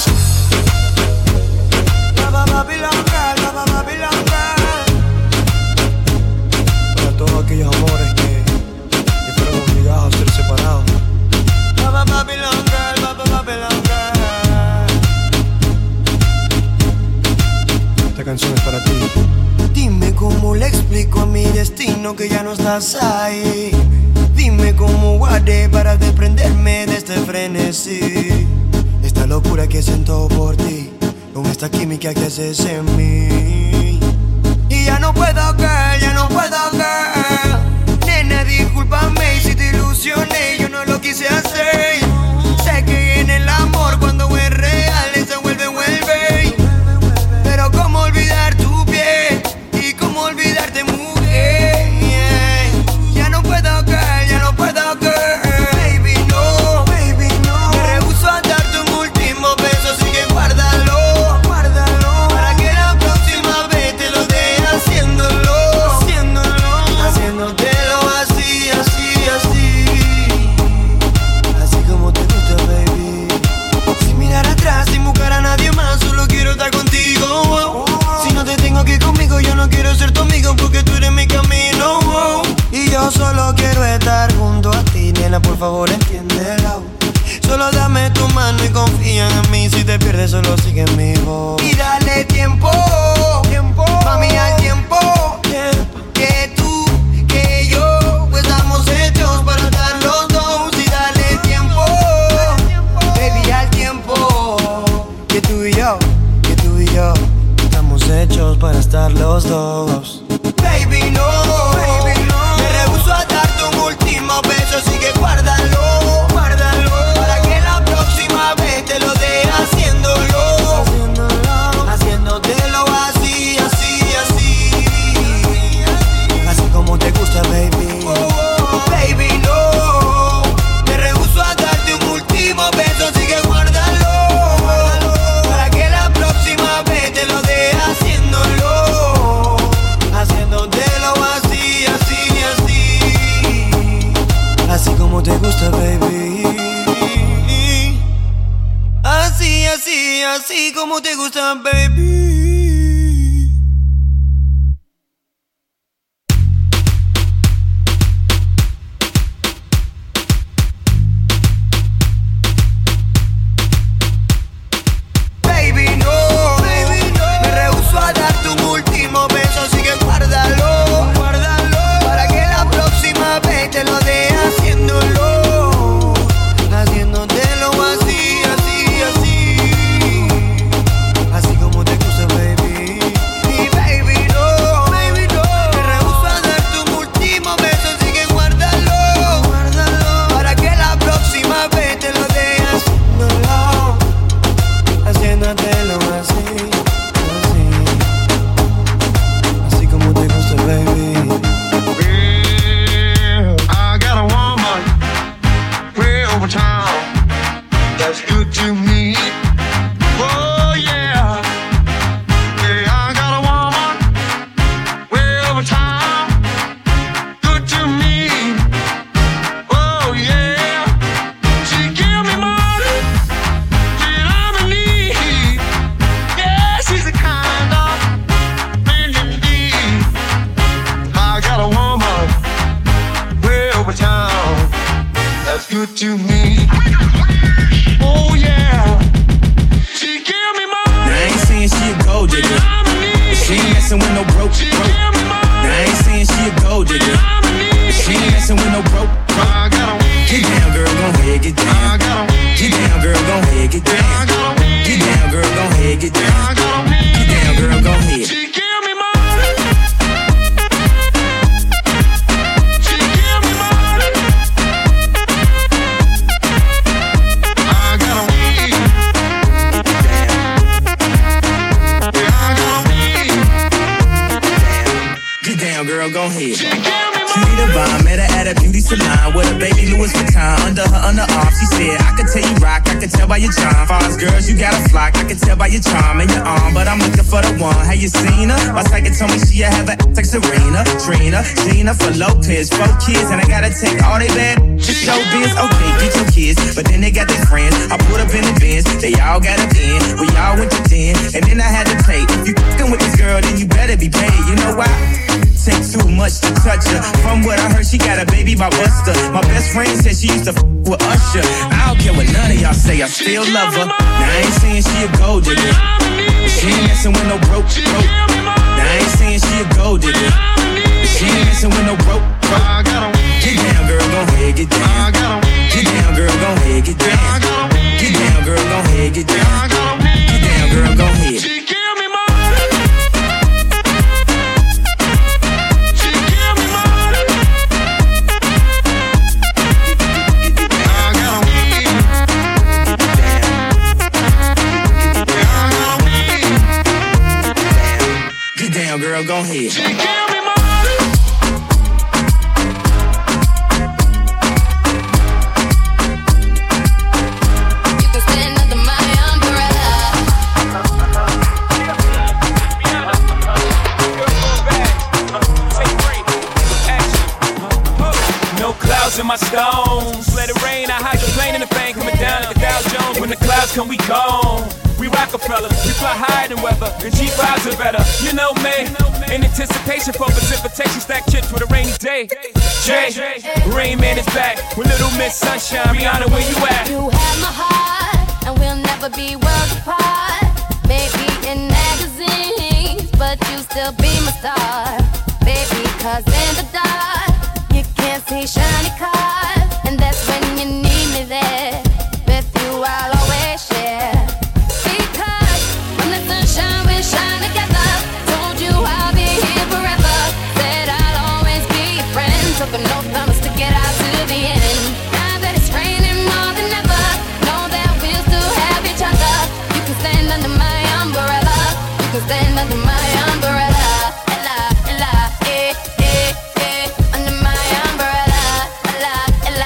Baba Babylon girl, Baba Babylon girl. Para todos aquellos amores que, que fueron obligados a ser separados. Baba Babylon girl, Baba Babylon girl. Esta canción es para ti. Dime cómo le explico a mi destino que ya no estás ahí. Dime cómo guardé para desprenderme de este frenesí. Esta locura que siento por ti, con esta química que haces en mí. Y ya no puedo, girl, ya no puedo, girl. Nena, discúlpame si te ilusioné, yo no lo quise hacer. Sé que en el amor cuando es real se vuelve, vuelve. Pero cómo olvidar tu piel y cómo olvidarte, mujer. Ya no puedo, girl, ya no puedo, girl. Baby, no, baby, no. Me rehuso a darte un último beso, así que guárdalo, guárdalo. Para que la próxima vez te lo dé haciéndolo, haciéndolo, haciéndotelo así, así, así. Así como te gusta, baby. Sin mirar atrás, sin buscar a nadie más, solo quiero estar contigo. Si no te tengo aquí conmigo, yo no quiero ser tu amigo porque tú eres mi camino. Y yo solo quiero estar junto a ti, nena, por favor entiéndelo. Solo dame tu mano y confía en mí. Si te pierdes, solo sigue mi voz. Y dale tiempo, tiempo, mami, al tiempo, tiempo. Que tú, que yo, pues estamos hechos para estar los dos. Y dale tiempo, baby, al tiempo. Que tú y yo, que tú y yo estamos hechos para estar los dos. Baby, no, baby, no. Me rehuso a darte un último beso, así que guárdalo, guárdalo. Para que la próxima vez te lo dé haciéndolo, haciéndolo, haciéndotelo así, así, así. Así como te gusta, baby. Oh, baby, no. Me rehuso a darte un último beso, así que guárdalo, guárdalo. Para que la próxima vez te lo dé haciéndolo, haciéndotelo así, así, así. Así como te gusta, baby. Así, así, así como te gusta, baby. to me. Oh yeah. She give me money. Now I ain't saying she a gold digger, but she ain't messing with no broke, broke. Now I ain't saying she a gold digger, but she ain't messing with no broke, broke. Get down, girl, gon' ahead, get down. Get down, girl, gon' ahead, get down. Get down, girl, gon' ahead, get down. Get down, girl, gon' ahead. She give me money. She give me money. I gotta weed. Yeah, I gotta weed. Get down, girl, gon' ahead. She divine, met her at a beauty salon with a baby Louis Vuitton under her underarm. She said, I could tell you rock, I could tell by your charm. Far as girls, you got a flock, I could tell by your charm and your arm. But I'm looking for the one, have you seen her? My psychic told me she have a like Serena, Trina, Gina for Lopez, four kids, and I gotta take all they bad to show biz. Okay, get your kids, but then they got their friends. I put up in the bins, they all got a bin. We all went to den, and then I had to pay. If you fucking with this girl, then you better be paid. You know why? Take too much to touch her. From what I heard, she got a baby by Buster. My best friend said she used to f with Usher. I don't care what none of y'all say, I still love her. Now I ain't saying she a gold digger, but she ain't messing with no broke, broke. Now I ain't saying she a gold digger, but she ain't messing with no broke, broke. Get down, girl, gon' ahead, get down. Get down, girl, gon' ahead, get down. Get down, girl, gon' ahead, get down. Get down, girl, gon' ahead. Girl, go ahead. She give me money. You can stand under my umbrella. No clouds in my stones. Let it rain. I hydroplane in the bank coming down like a Dow Jones. When the clouds come, we gone. We Rockefeller, we fly higher than weather, and G fives are better. You know me, in anticipation for precipitation, stack chips with a rainy day. Jay, Rain Man is back with Little Miss Sunshine. Rihanna, where you at? You have my heart, and we'll never be worlds apart. Maybe in magazines, but you still be my star. Baby, cause in the dark, you can't see shiny cars, and that's when you need me there. With you, I'll always share. Shine, we shine together. Told you I'll be here forever. Said I'll always be your friend. Took an oath, promise to get out to the end. Now that it's raining more than ever, know that we'll still have each other. You can stand under my umbrella. You can stand under my umbrella. Ella, Ella, eh, eh, eh. Under my umbrella. Ella, Ella.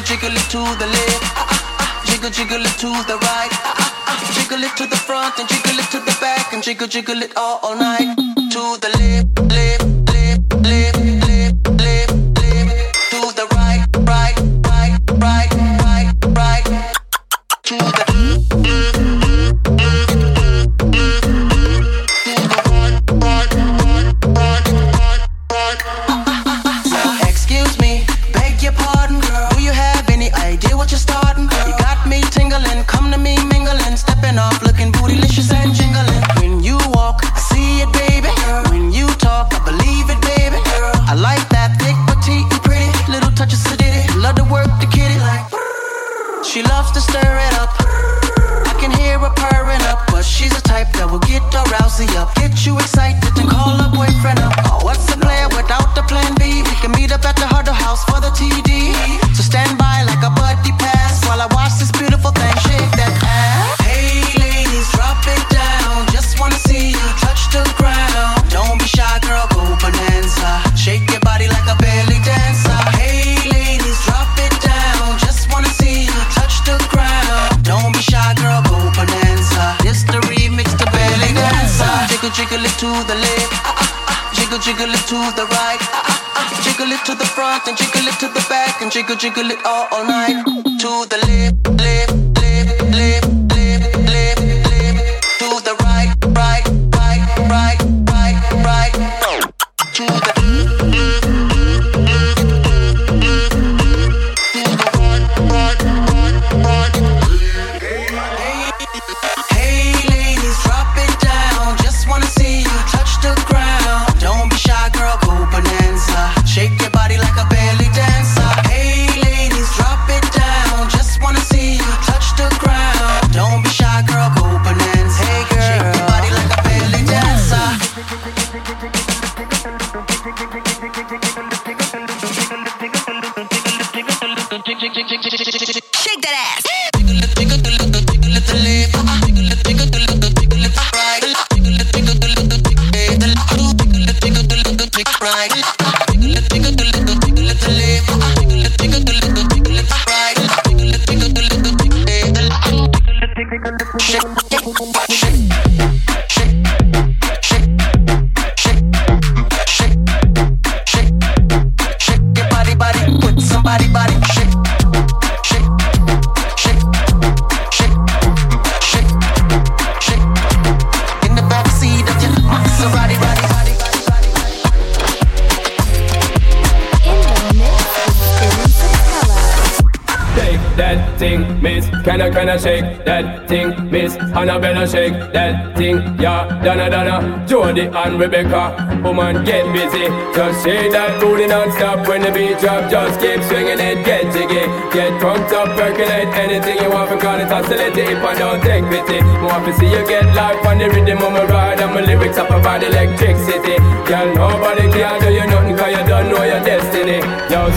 jiggle it to the left. Uh, uh, uh, jiggle, jiggle it to the right. Uh, uh, uh, jiggle it to the front and jiggle it to the back and jiggle, jiggle it all, all night. To the left, left, left, left, left, left, left. To the right, right, right, right, right, right. To the excuse me, beg your pardon, girl. Do you have any idea what you're starting? You got me tingling, come to me mingling, stepping off, looking bootylicious and jingling. When you walk, I see it, baby. When you talk, I believe it, baby. I like that thick, petite, and pretty. Little touches of ditty, love to work the kitty like. She loves to stir it up. I can hear her purring up, but she's the type that will get her rousey up, get you excited and call her boyfriend up. Oh, what's the plan without the plan B? We can meet up at the Huddle House for the T D. So stand by like a buddy pass while I watch this beautiful thing shake that ass. Hey ladies, drop it down. Just wanna see you touch the ground. Don't be shy, girl, go bonanza. Shake your body like a belly dancer. Hey ladies, drop it down. Just wanna see you touch the ground. Don't be shy, girl, go bonanza. This the remix to belly dancer. Jiggle, jiggle it to the left. Uh, uh, uh. Jiggle, jiggle it to the right. Uh, uh, uh. Jiggle it to the front and jiggle it to the back and jiggle, jiggle it all, all night. To the left, left, left, left, left, left, left. To the right, right, right, right, right, right. To the hey ladies, drop it down. Just wanna see you touch the ground. Don't be shy, girl, go bonanza. Shake your body like a belly dancer. Hey ladies, drop it down. Just wanna see you touch the ground. Don't be shy, girl, go bonanza. Hey girl, shake your body like a belly dancer. Shake that ass. Kinda, kinda shake that thing, Miss Annabella, shake that thing, yeah, Donna, Donna, Jody and Rebecca, woman, get busy, just shake that booty non-stop when the beat drop, just keep swinging it, get jiggy, get drunk up, percolate, anything you want, because it's oscillating, if I don't take pity, more to see you get life on the rhythm of my ride, and my lyrics up about electricity, girl, nobody can do you nothing, cause you don't know your destiny, yo.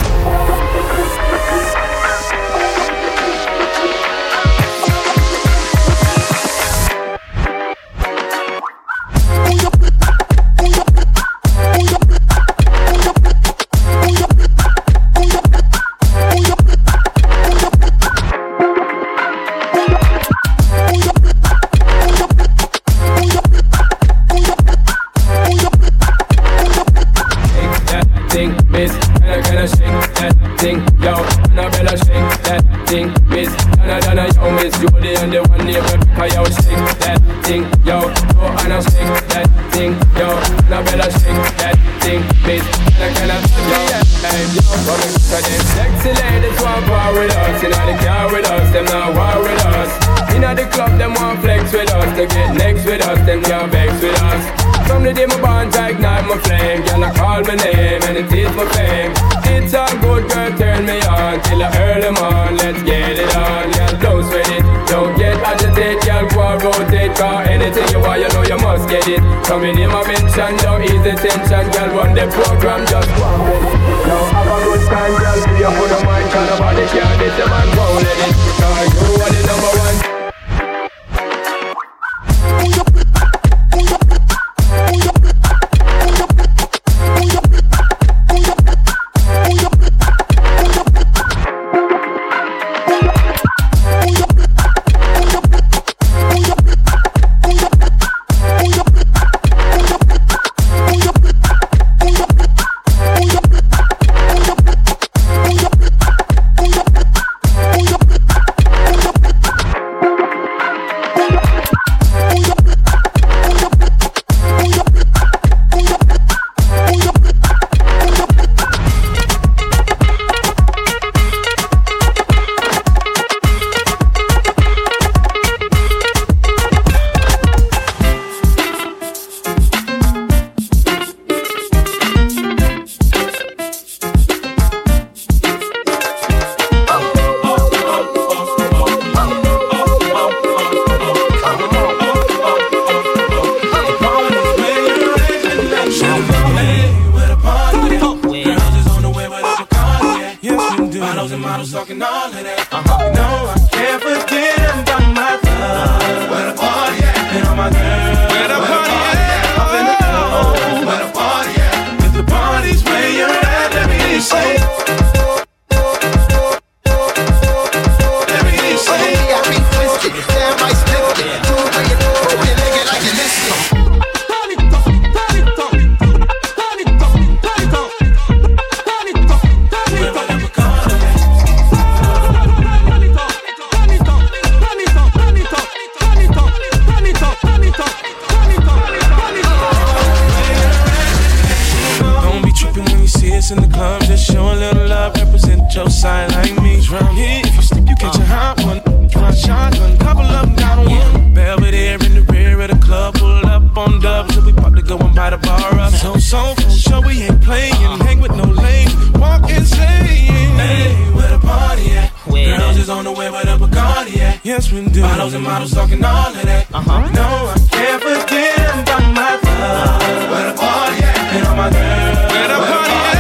My name and it is my fame. It's a good girl, turn me on till I early morn. Let's get it on, girl, don't sweat it. Don't get agitated, girl, go and rotate. Cause anything you want, you know you must get it. Coming in my mention, don't ease the tension. Girl, run the program, just one minute. Now have a good time, girl, give you put a mind. Cause nobody can this, the man won't let it. Cause you are the number one. models talking all of that. Uh-huh. You know I can't forget about my love. Where the party at? And all my girls. Where the party at? Up in the club. Where the party at? If the party's where you're at, let me hear you say. Let me hear you say. I be twisted, damn right split it. Do it, bring it, move it, nigga like you missed it. In the club, just show a little love, represent your side like me. Round here, if you slip, you catch a hot one. Try shotgun, couple of them down on one. Belvedere in the rear of the club, pull up on dubs, and we pop to go and buy the bar up. So, so, for sure we ain't playing, hang with no lame, walk insane. Hey, where the party at? Girls is on the way, where the Bacardi at? Yes, we do. Bottles and models talking all of that. Uh-huh. No, I can't forget about my love. Where the party at? And all my girls. Where the party at?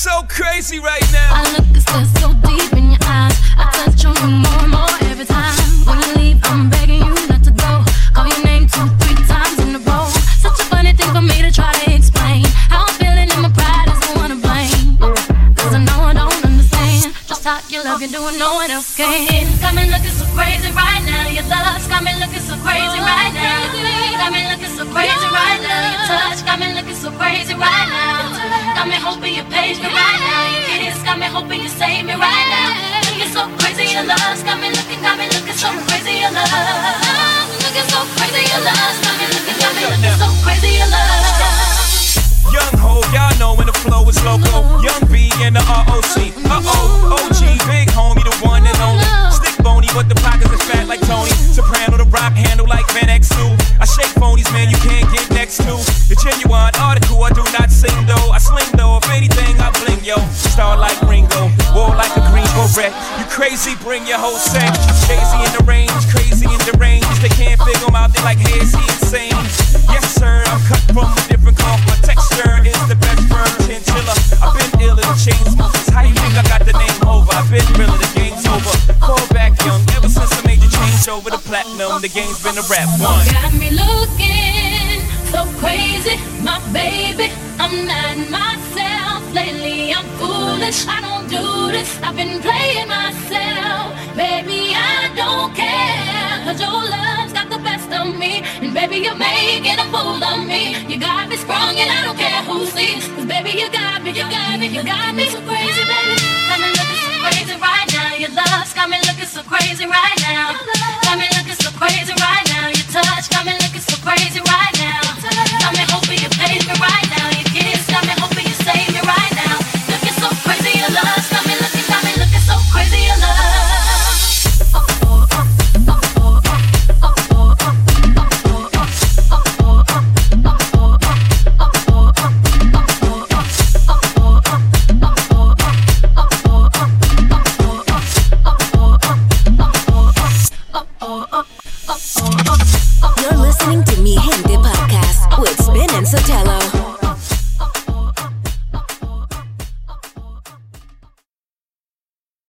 so crazy right now. I look and stare so deep in your eyes. I touch on you more and more every time. When you leave, I'm begging you not to go. Call your name two, three times in a row. Such a funny thing for me to try to explain. How I'm feeling and my pride is the one to blame. Cause I know I don't understand just how you love you doing no one else can. It's got me looking so crazy right now. Your love's got me looking so crazy right now. Got me looking so crazy right now. Your touch got me looking so crazy right now. Got me hoping you page me right now. Your kiss got me hoping you save me right now. Looking so crazy, your love's got me looking, got me looking so crazy, your love. Looking so crazy, your love's got me looking, got me looking so crazy, your love. Young ho, y'all know when the flow is loco. Young B and the R O C. Uh-oh, O G, big homie, the one and only. Stick bony, but the pockets is fat like Tony. Soprano, the rock handle like Van Exel. I shake phonies, man, you can't get next to. The genuine article, I do not sing though. I sling though, if anything, I bling, yo. Star like Ringo, war like a green beret. You crazy, bring your whole set. Crazy in the range, crazy in the range. They can't figure him out, they like, hey, is he insane? Yes, sir, I'm cut from a different cloth, but texture is the best firm chinchilla. I've been ill in the chain smokers. How you think I got the name over? I've been real, the game's over. Fall back young, ever since I made the change over the platinum, the game's been a rap one. Got me looking so crazy, my baby. I'm not myself lately. I'm foolish. I don't do this. I've been playing myself, baby. I don't care, 'cause your love's got the best of me, and baby, you're making a fool of me. You got me sprung, and I don't care who sees, 'cause baby, you got me, you got me, you got me so crazy, baby. Got me looking so crazy right now. Your love's got me looking so crazy right now. Got me looking so crazy right now. Your touch got me looking so crazy right now.